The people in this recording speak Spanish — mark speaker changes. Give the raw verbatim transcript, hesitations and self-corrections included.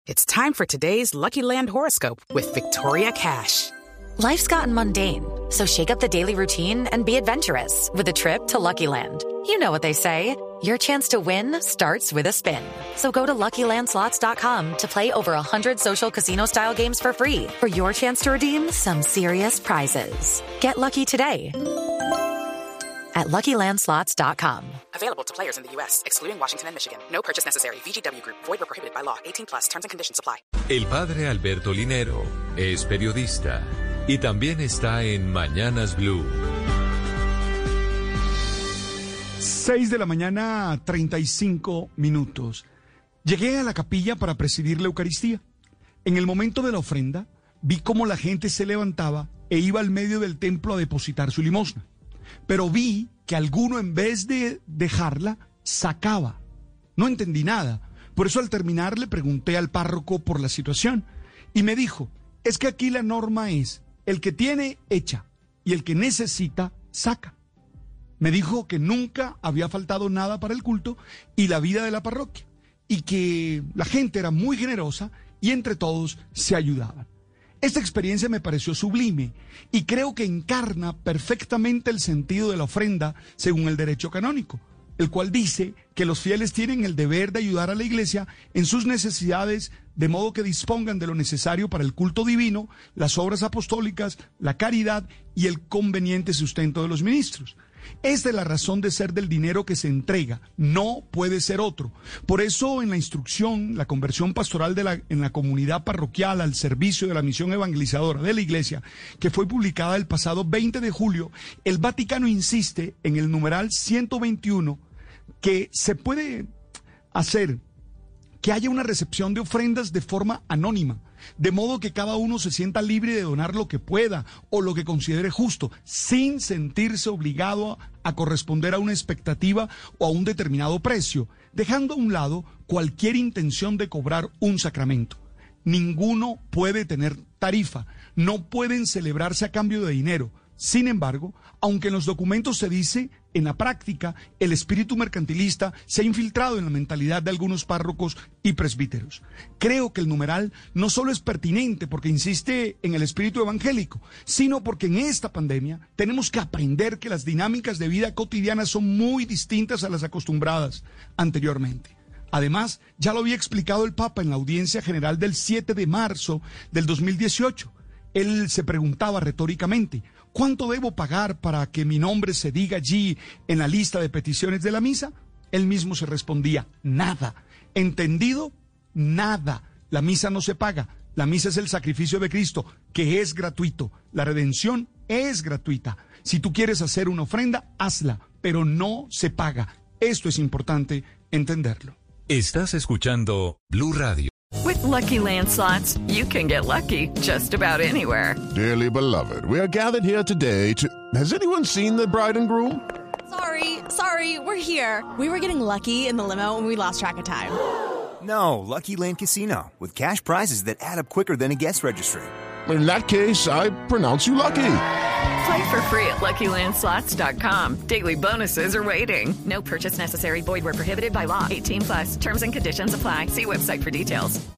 Speaker 1: It's time for today's Lucky Land horoscope with Victoria Cash.
Speaker 2: Life's gotten mundane, so shake up the daily routine and be adventurous with a trip to Lucky Land. You know what they say, your chance to win starts with a spin. So go to Lucky Land Slots dot com to play over one hundred social casino-style games for free for your chance to redeem some serious prizes. Get lucky today at Lucky Land Slots dot com.
Speaker 1: Available to players in the U S, excluding Washington and Michigan. No purchase necessary. V G W Group. Void or prohibited by law. eighteen plus. Terms and conditions apply.
Speaker 3: El padre Alberto Linero es periodista y también está en Mañanas Blue.
Speaker 4: seis de la mañana, treinta y cinco minutos. Llegué a la capilla para presidir la Eucaristía. En el momento de la ofrenda, vi cómo la gente se levantaba e iba al medio del templo a depositar su limosna. Pero vi que alguno, en vez de dejarla, sacaba. No entendí nada. Por eso, al terminar, le pregunté al párroco por la situación. Y me dijo, es que aquí la norma es, el que tiene, echa, y el que necesita, saca. Me dijo que nunca había faltado nada para el culto y la vida de la parroquia, y que la gente era muy generosa y entre todos se ayudaban. Esta experiencia me pareció sublime y creo que encarna perfectamente el sentido de la ofrenda según el derecho canónico, el cual dice que los fieles tienen el deber de ayudar a la Iglesia en sus necesidades, de modo que dispongan de lo necesario para el culto divino, las obras apostólicas, la caridad y el conveniente sustento de los ministros. Esta es la razón de ser del dinero que se entrega, no puede ser otro. Por eso, en la instrucción, la conversión pastoral de la, en la comunidad parroquial al servicio de la misión evangelizadora de la Iglesia, que fue publicada el pasado veinte de julio, el Vaticano insiste en el numeral ciento veintiuno que se puede hacer que haya una recepción de ofrendas de forma anónima, de modo que cada uno se sienta libre de donar lo que pueda o lo que considere justo, sin sentirse obligado a corresponder a una expectativa o a un determinado precio, dejando a un lado cualquier intención de cobrar un sacramento. Ninguno puede tener tarifa, no pueden celebrarse a cambio de dinero. Sin embargo, aunque en los documentos se dice, en la práctica, el espíritu mercantilista se ha infiltrado en la mentalidad de algunos párrocos y presbíteros. Creo que el numeral no solo es pertinente porque insiste en el espíritu evangélico, sino porque en esta pandemia tenemos que aprender que las dinámicas de vida cotidiana son muy distintas a las acostumbradas anteriormente. Además, ya lo había explicado el Papa en la audiencia general del siete de marzo del dos mil dieciocho. Él se preguntaba retóricamente, ¿cuánto debo pagar para que mi nombre se diga allí en la lista de peticiones de la misa? Él mismo se respondía, nada. ¿Entendido? Nada. La misa no se paga. La misa es el sacrificio de Cristo, que es gratuito. La redención es gratuita. Si tú quieres hacer una ofrenda, hazla, pero no se paga. Esto es importante entenderlo.
Speaker 3: Estás escuchando Blue Radio.
Speaker 5: With Lucky Land Slots, you can get lucky just about anywhere.
Speaker 6: Dearly beloved, we are gathered here today to... Has anyone seen the bride and groom?
Speaker 7: Sorry, sorry, we're here. We were getting lucky in the limo and we lost track of time.
Speaker 8: No, Lucky Land Casino, with cash prizes that add up quicker than a guest registry.
Speaker 6: In that case, I pronounce you lucky.
Speaker 5: Play for free at Lucky Land Slots dot com. Daily bonuses are waiting. No purchase necessary. Void where prohibited by law. eighteen plus. Terms and conditions apply. See website for details.